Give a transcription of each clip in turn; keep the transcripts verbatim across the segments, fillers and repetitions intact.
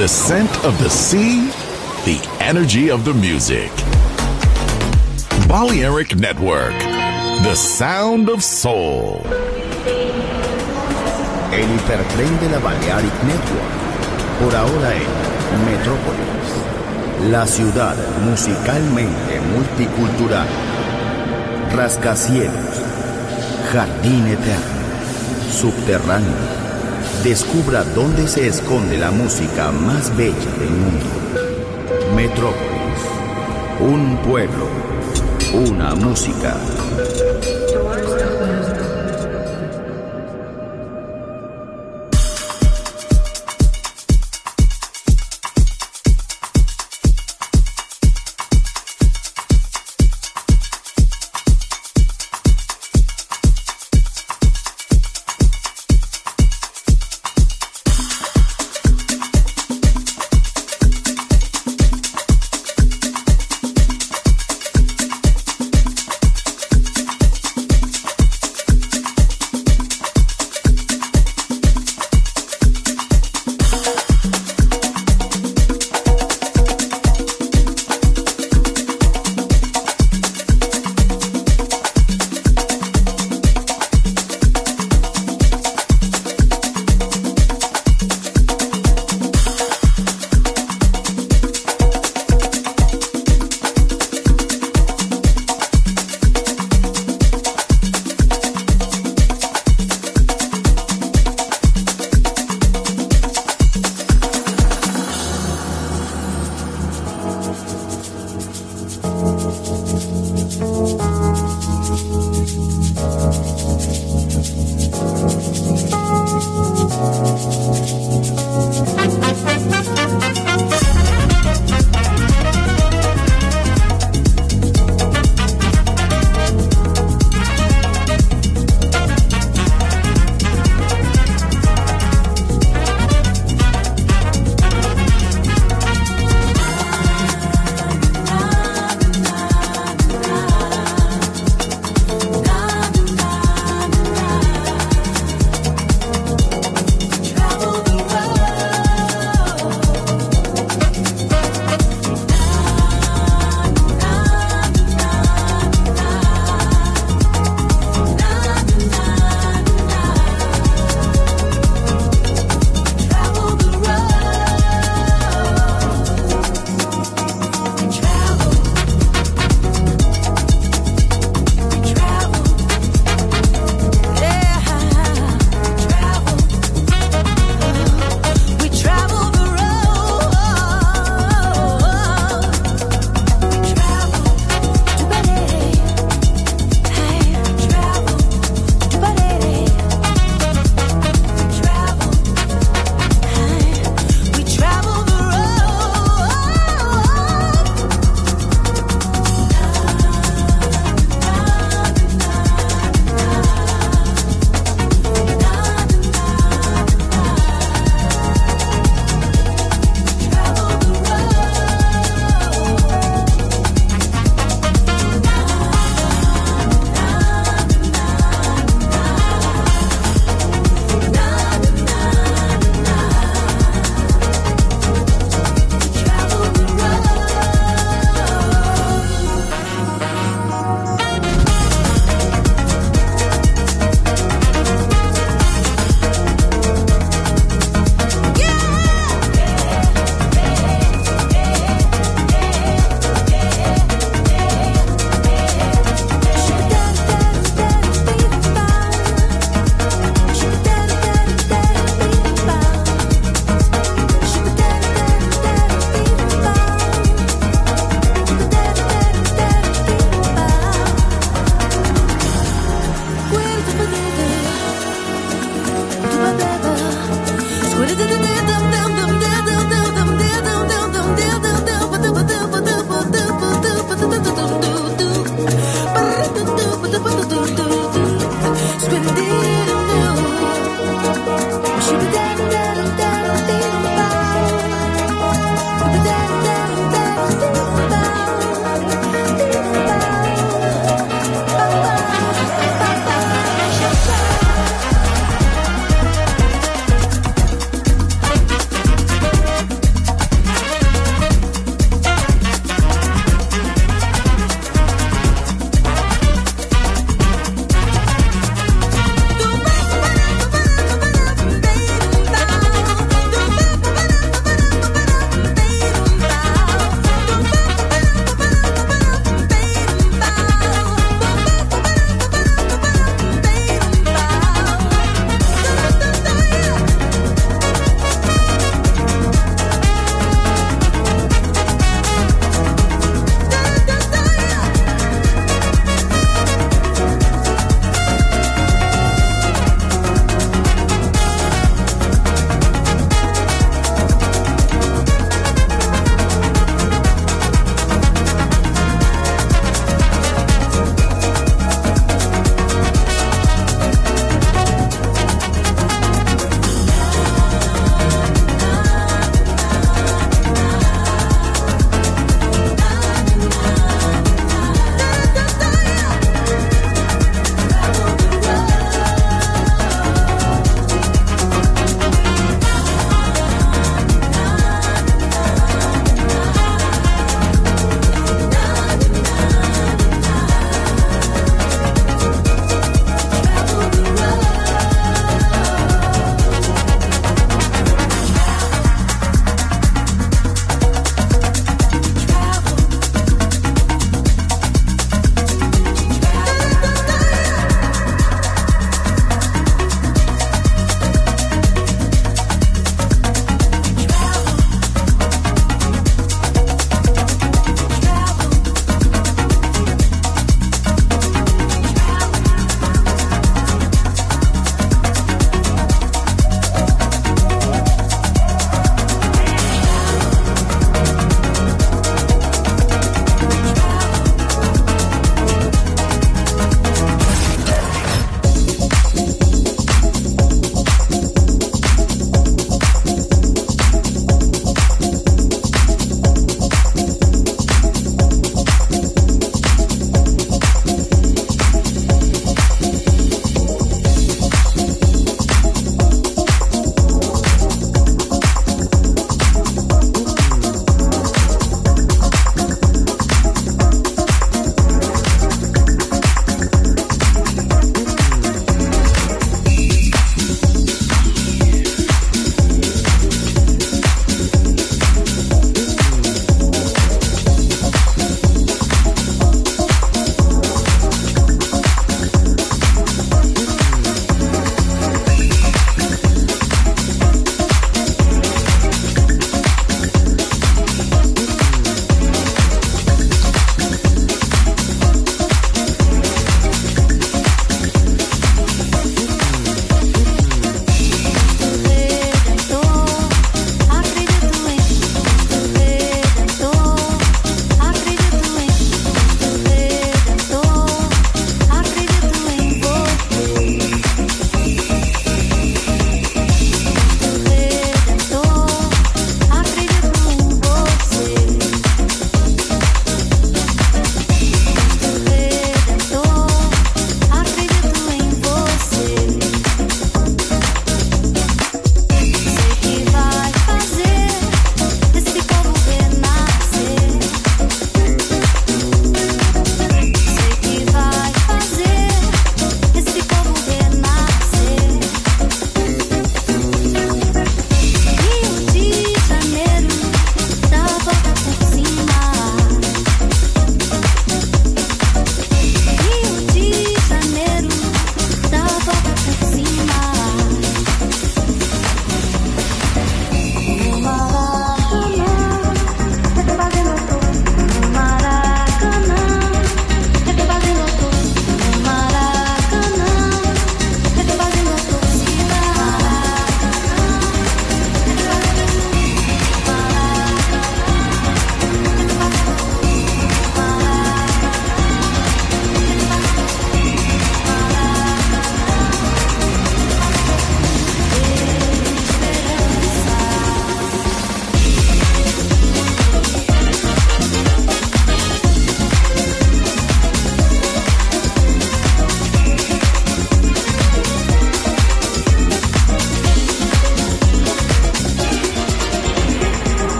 The scent of the sea, the energy of the music. Balearic Network, the sound of soul. El hipertren de la Balearic Network, por ahora en Metrópolis, la ciudad musicalmente multicultural. Rascacielos, jardín eterno, subterráneo. Descubra dónde se esconde la música más bella del mundo. Metrópolis, un pueblo, una música.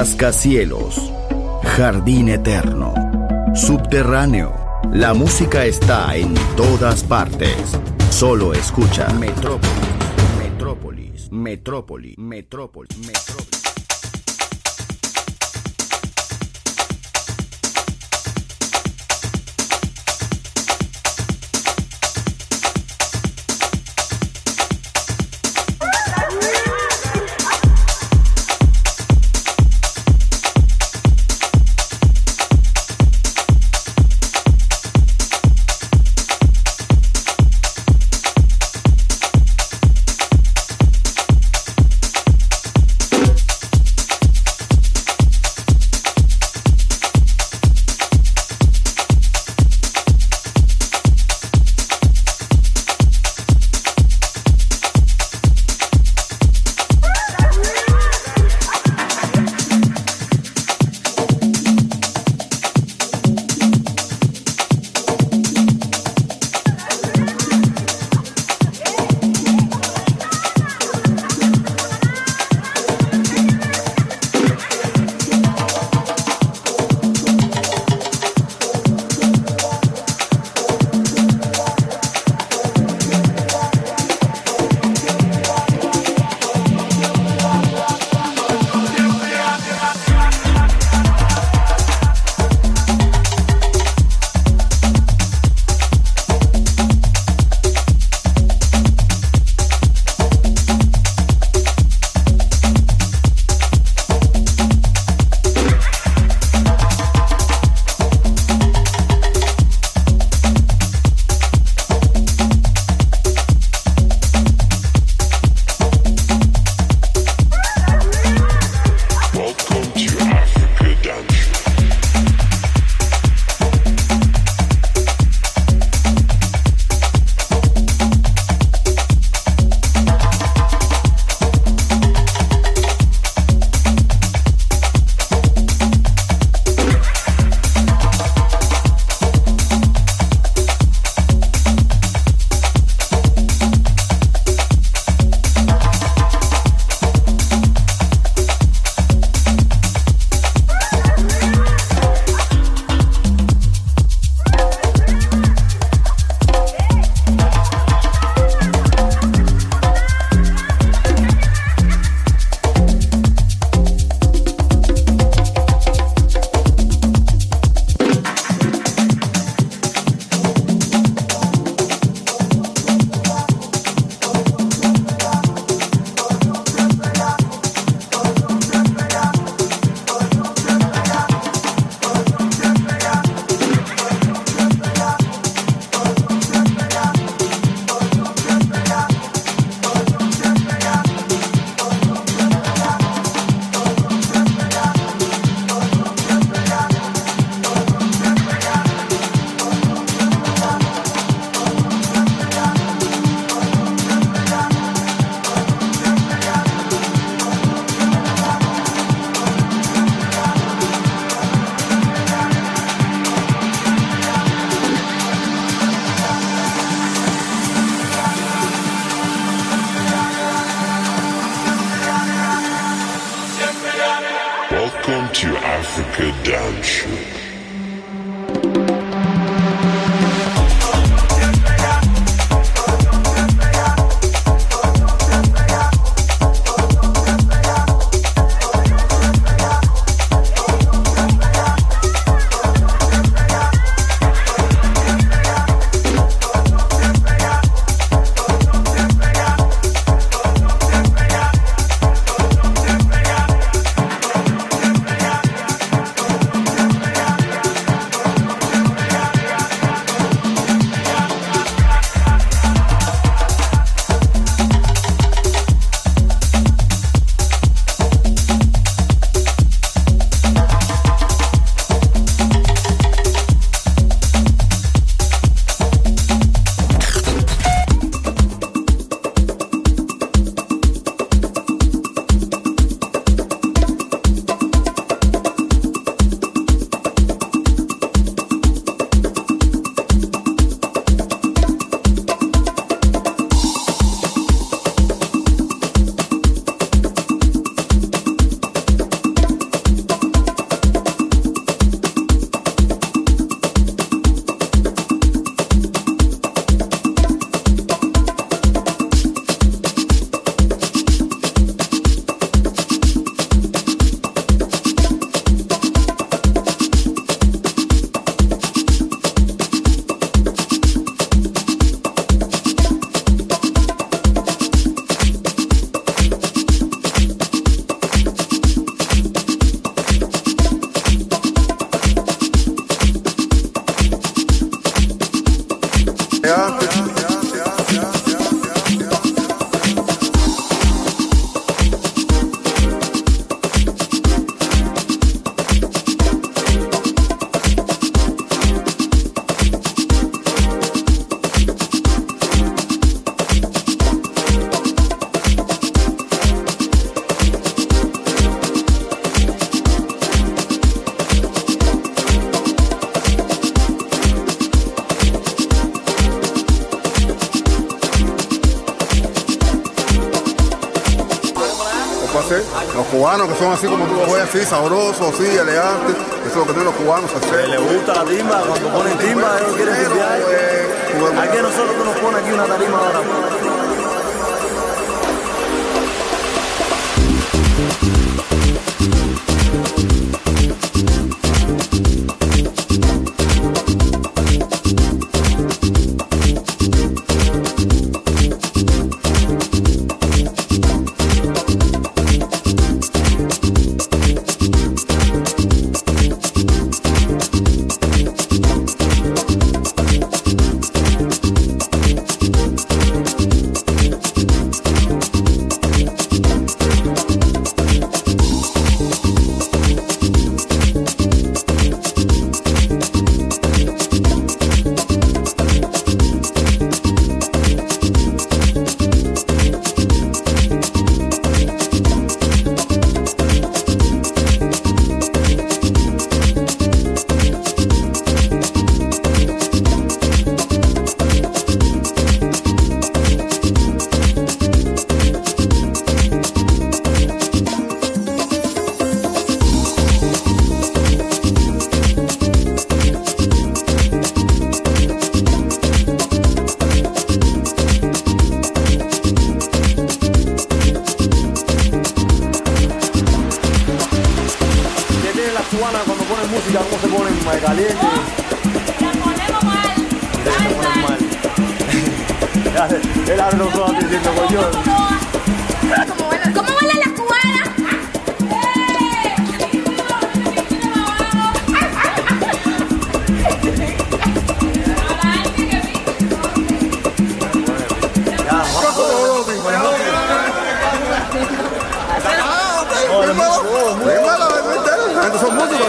rascacielos, jardín eterno, subterráneo. La música está en todas partes. Solo escucha Metrópolis, Metrópolis, Metrópolis, Metrópolis, Metrópolis. to Africa Dance Show. Yeah. para hacer. Los cubanos que son así como tú los ves, así sabrosos, así, elegantes, eso es lo que tienen los cubanos hacer. Le gusta la timba, cuando ponen timba, ellos quieren timbear. Aquí nosotros tú nos pones aquí una tarima ahora. Cuando ponen música, ¿cómo se ponen? Caliente. La ponemos mal. Se ponen mal. Él abre los ojos diciendo, coño. ¿Cómo bailan las cubanas? Son músicos,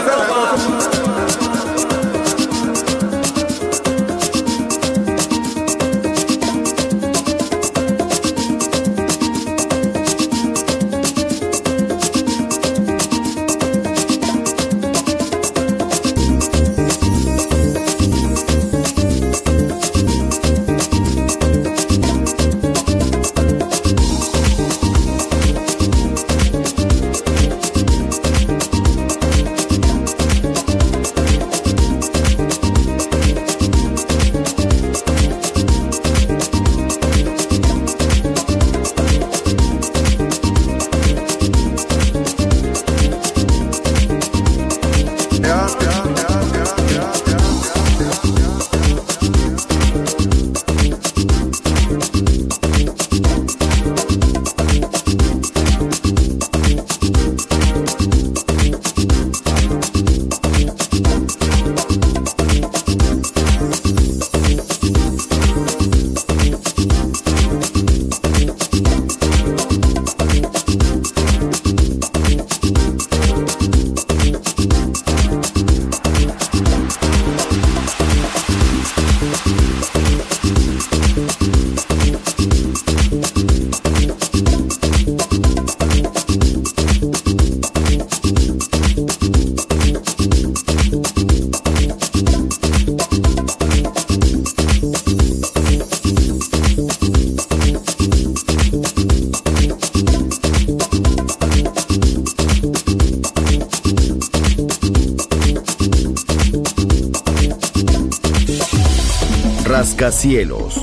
Rascacielos,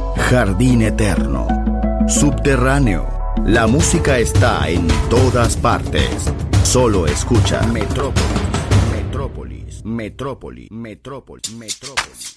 jardín eterno, subterráneo. La música está en todas partes. Solo escucha Metrópolis, Metrópolis, Metrópolis, Metrópolis, Metrópolis.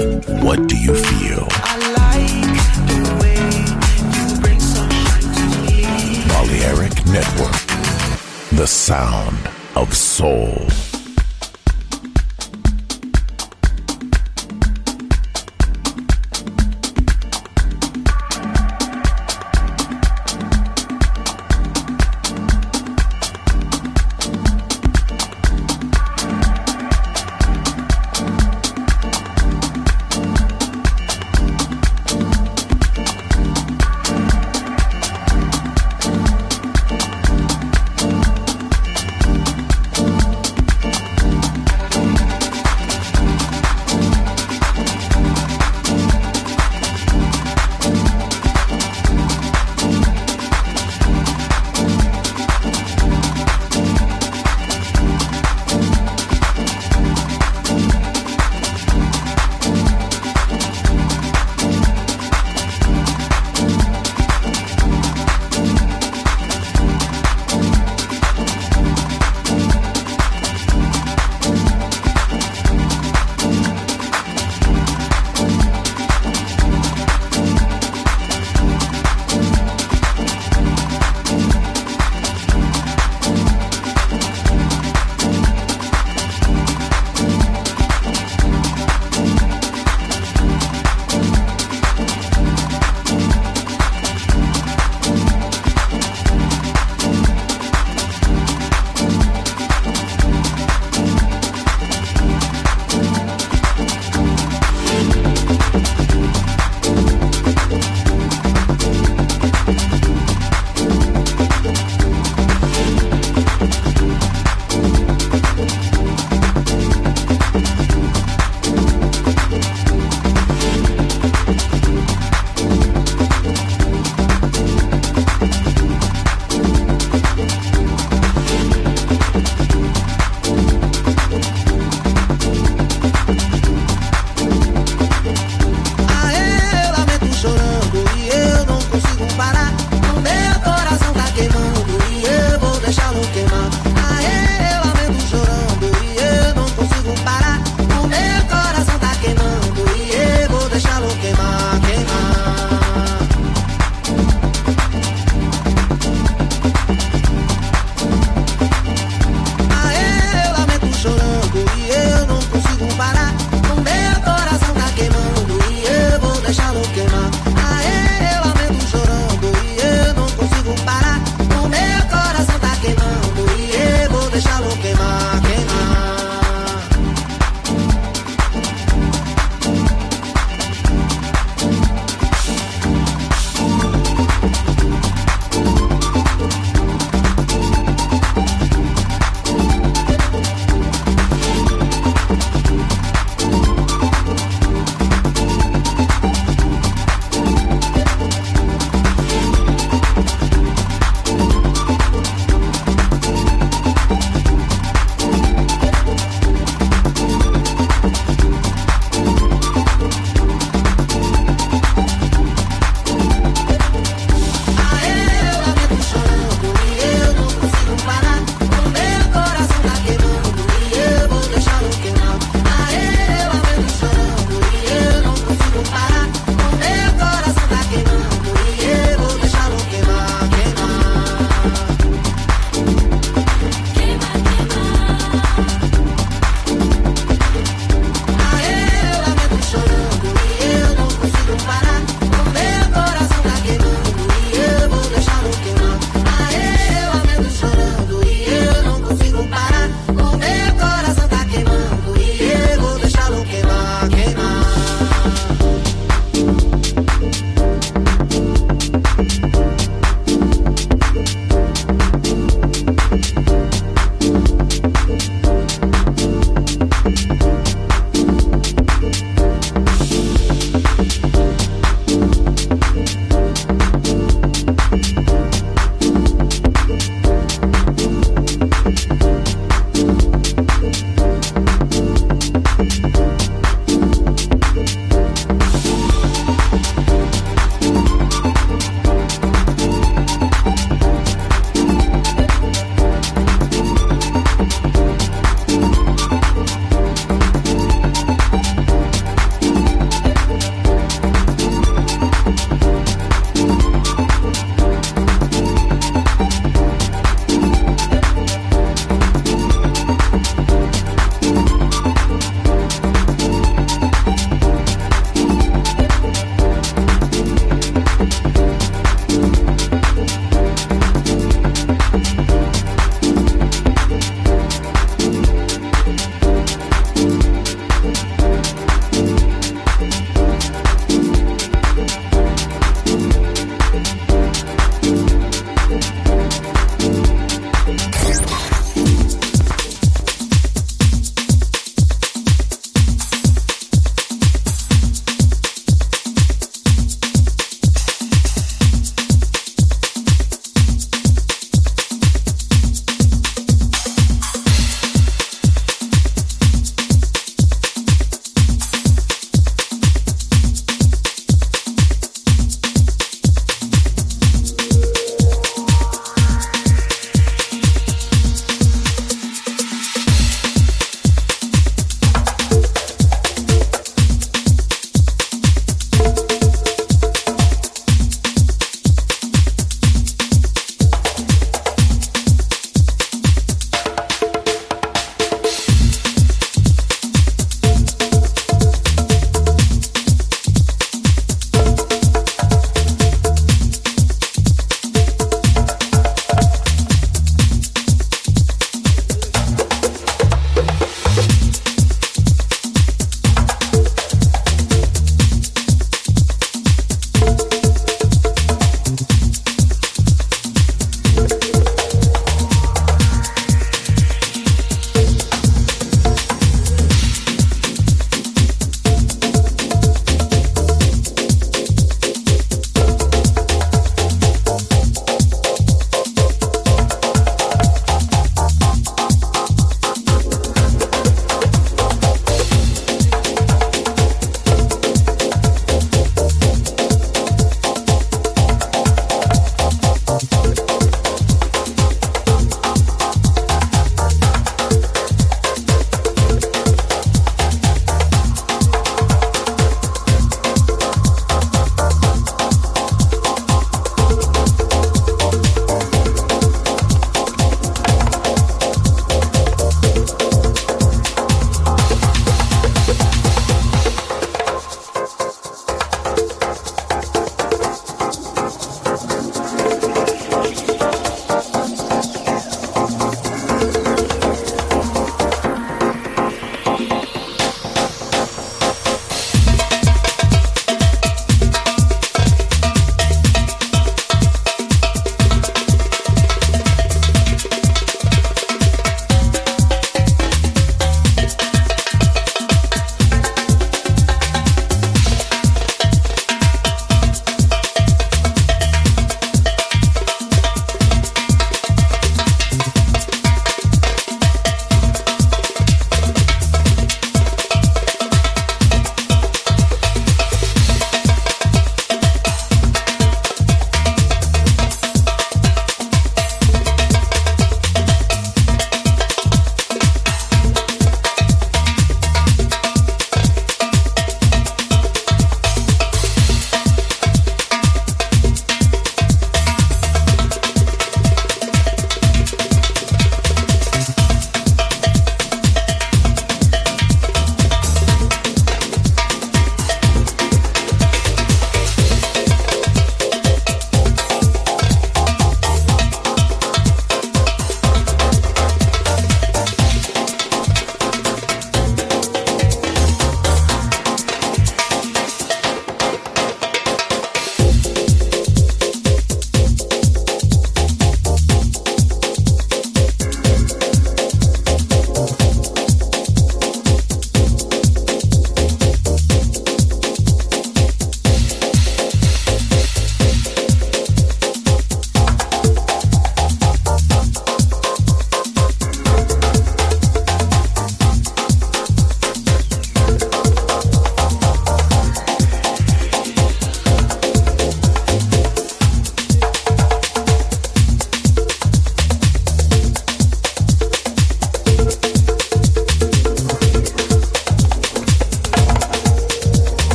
What do you feel? I like the way you bring sunshine to me. Balearic Network, the sound of soul.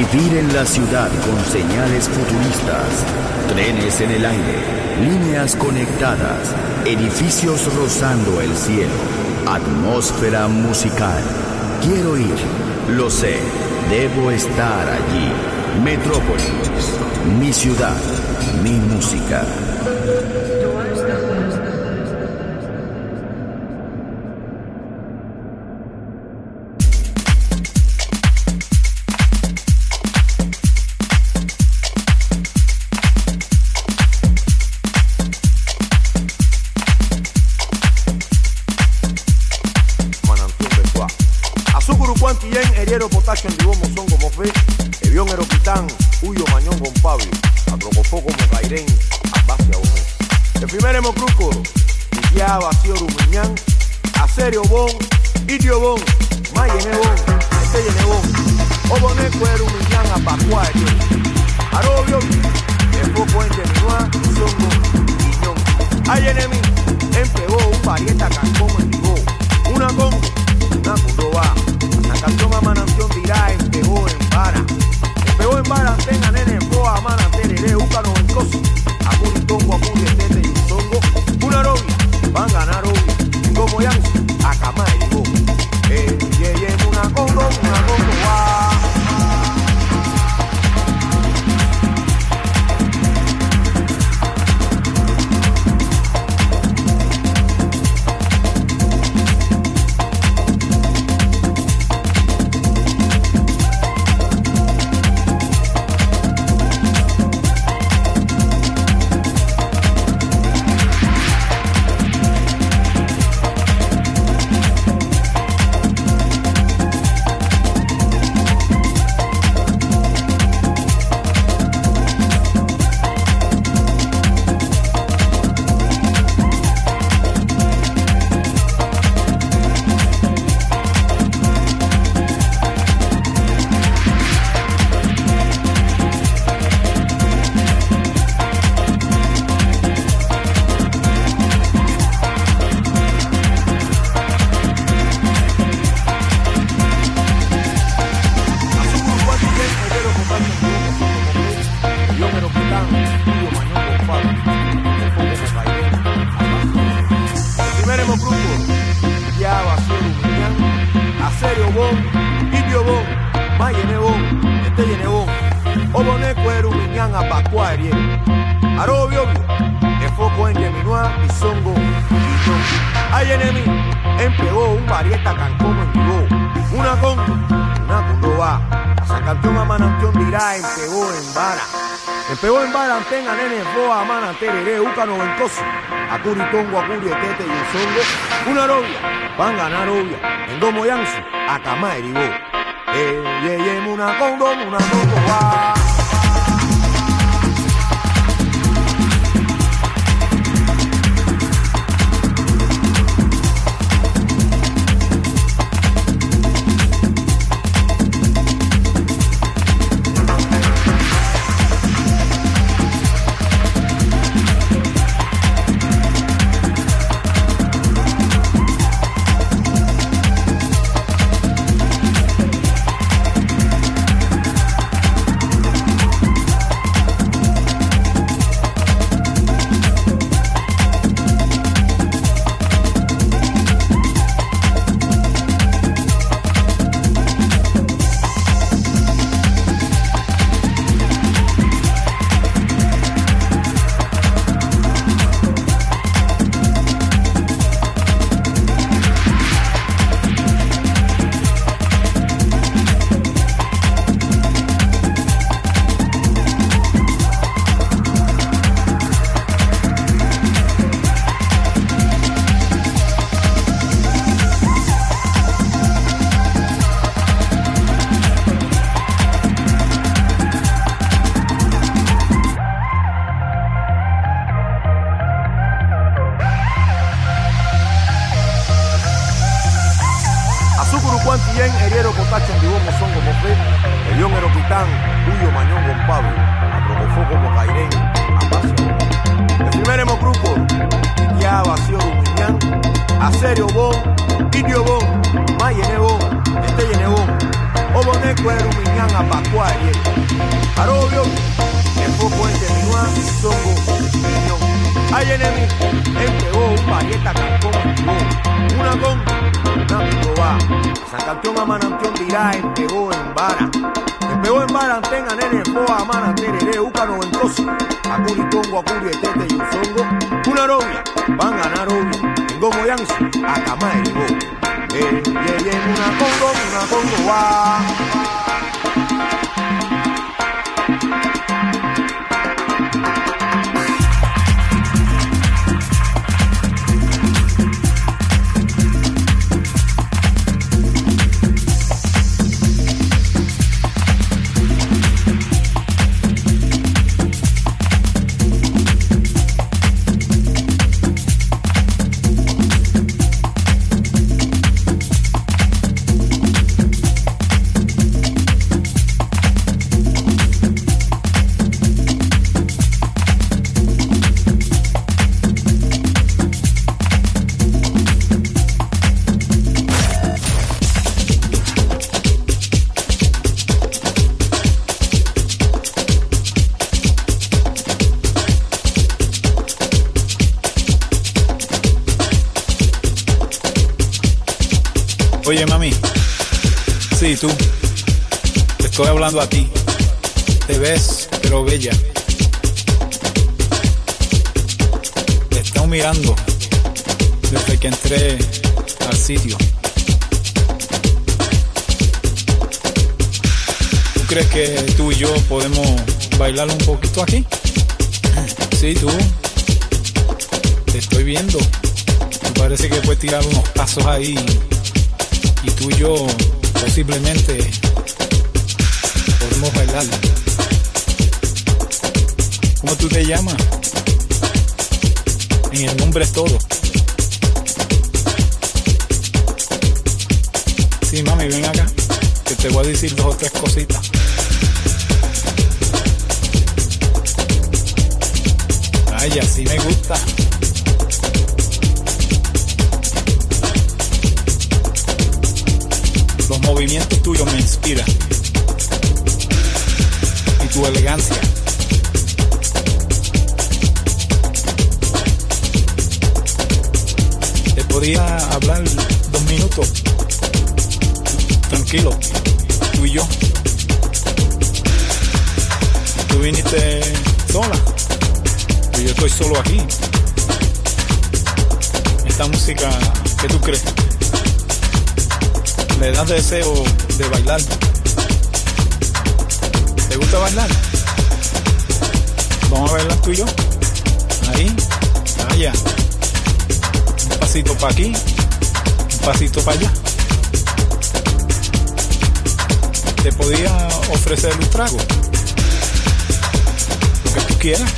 Vivir en la ciudad con señales futuristas, trenes en el aire, líneas conectadas, edificios rozando el cielo, atmósfera musical. Quiero ir, lo sé, debo estar allí. Metrópolis, mi ciudad, mi música. Potasio, Andibomo, Songo, Mofé, Evión, Eroquitán, Huyo, Mañón, Pablo, Atrocofoco, Mocairén, Abacia, Omé. El primer Hemocruco, Iquia, Vacío, Rumiñán, Acerio, Bon, Idio, Bon, Mayene, Bon, Esteyene, Bon, Oboneco, Rumiñán, Apacuá, Arobio, El Foco, Enteminua, Songo, Guiñón. Hay enemi, empegó un parieta, Cancón, Endigó, una con, una Cundoba. La canción a Mananción dirá, empegó en vara. Empegó en vara, tenga nene, poa, mana, tereré, úcano, en cosi. Acuritongo, acuri, tete y zongo. Una novia, van a ganar obvio. Como ya, a cama y digo. Eh, ye, ye, una congo, una congo, va. Empegó en vara, tenga nene, boa, mana, tereré, úcano, en cosi. Acuri, tongo, acuri, tete y un zongo. Una novia, van a ganar obvia. En domo yansu, a cama y digo. Eh, ye, ye, una congo, una congo, va. Heriero, Potacho, Andibomo, Songo, Mofé, Evión, Eroquitán, Huyo, Mañón, Pablo, Atrocofoco, Mocairén, Abacia. El primer Hemocruco, Iquia, Vacío, Rumiñán, Acerio, Bon, Idio, Bon, ma yenebo, este yenebo. Obone kwero minyanga bakwaye. Arobio, enfoko en terminua, songo, miñón. Ayenemi, empegó un parieta cancón, una con, una picoba. San Campeón a Manantión dirá, empegó en vara. Empegó en vara, tenga nene, boa, mana, terere, uca noventoso. Acuri congo, acuri, etete y usongo. Una robia, van a ganar obvio. En gomo yansu, a cama el go. Eh, yeah, yeah, una congo, una congo, va. Oye, mami, sí, tú, te estoy hablando a ti. Te ves, pero bella. Te he estado mirando desde que entré al sitio. ¿Tú crees que tú y yo podemos bailar un poquito aquí? Sí, tú, te estoy viendo. Me parece que puedes tirar unos pasos ahí. Y tú y yo posiblemente podemos bailar. ¿Cómo tú te llamas? En el nombre es todo. Sí, mami, ven acá, que te voy a decir dos o tres cositas. Ay, así me gusta. Los movimientos tuyos me inspiran. Y tu elegancia. Te podía hablar dos minutos. Tranquilo. Tú y yo. Tú viniste sola. Y yo estoy solo aquí. Esta música, ¿qué tú crees? Le das deseo de bailar. ¿Te gusta bailar? Vamos a bailar tú y yo. Ahí, allá. Un pasito para aquí, un pasito para allá. Te podía ofrecer un trago. Lo que tú quieras.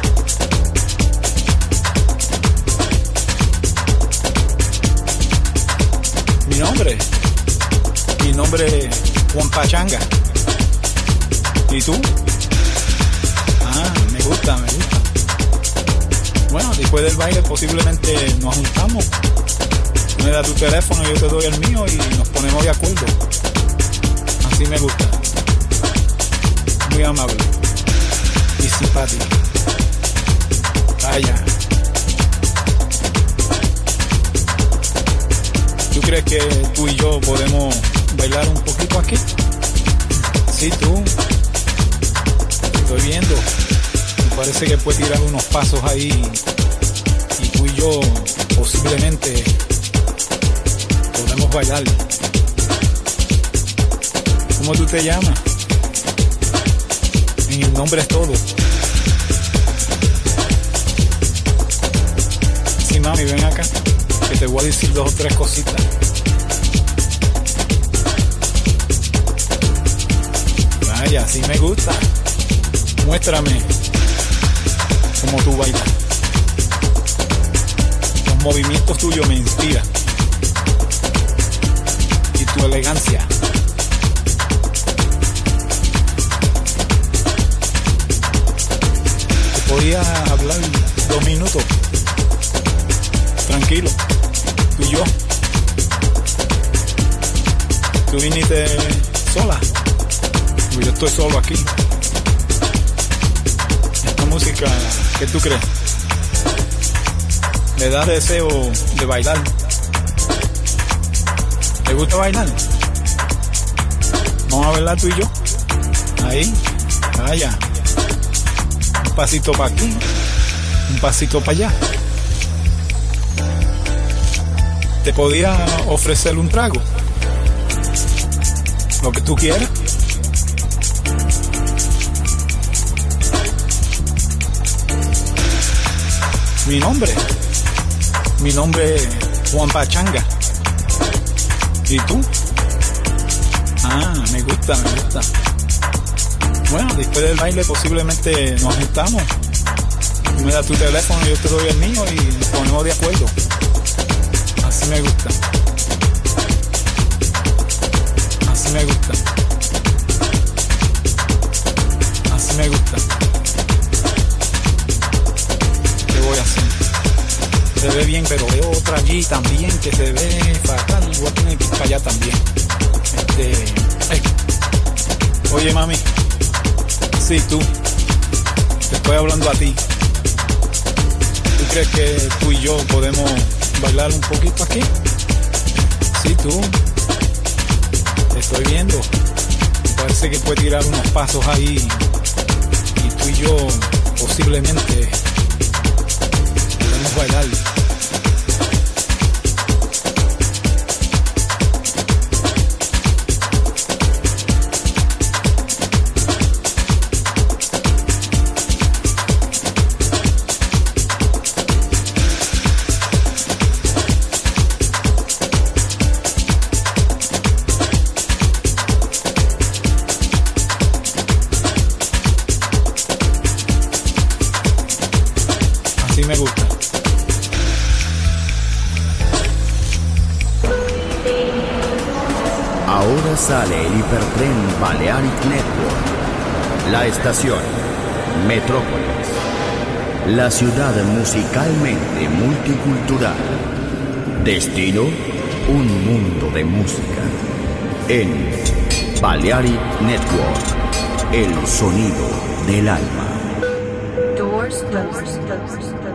Mi nombre. Mi nombre es Juan Pachanga. ¿Y tú? Ah, me gusta, me gusta. Bueno, después del baile posiblemente nos juntamos. Tú me das tu teléfono, yo te doy el mío y nos ponemos de acuerdo. Así me gusta. Muy amable. Y simpático. Vaya. ¿Tú crees que tú y yo podemos bailar un poquito aquí? Sí, tú. Te estoy viendo. Me parece que puedes tirar unos pasos ahí. Y tú y yo posiblemente podemos bailar. ¿Cómo tú te llamas? En el nombre es todo. Sí, mami, ven acá, que te voy a decir dos o tres cositas. Vaya, así me gusta. Muéstrame cómo tú bailas. Los movimientos tuyos me inspiran. Y tu elegancia. Te podía hablar dos minutos. Tranquilo, tú y yo. tú viniste sola, pues yo estoy solo aquí. Esta música, ¿qué tú crees? Me da deseo de bailar. ¿Te gusta bailar? Vamos a bailar tú y yo. Ahí, vaya. Un pasito para aquí, un pasito para allá. Te podía ofrecer un trago, lo que tú quieras. Mi nombre, mi nombre es Juan Pachanga. ¿Y tú? Ah, me gusta, me gusta. Bueno, después del baile posiblemente nos juntamos. Tú me das tu teléfono, yo te doy el mío y nos ponemos de acuerdo. Así me gusta. Así me gusta. Así me gusta. ¿Qué voy a hacer? Se ve bien, pero veo otra allí también que se ve fatal. Voy a tener que ir para allá también. Este... Hey. Oye, mami. Sí, tú. Te estoy hablando a ti. ¿Tú crees que tú y yo podemos bailar un poquito aquí? Sí, tú. Te estoy viendo. Parece que puedes tirar unos pasos ahí. Y tú y yo posiblemente podemos bailar. Me gusta. Ahora sale el hipertren Balearic Network. La estación Metrópolis. La ciudad musicalmente multicultural. Destino, un mundo de música. En Balearic Network, el sonido del alma. Doors closed.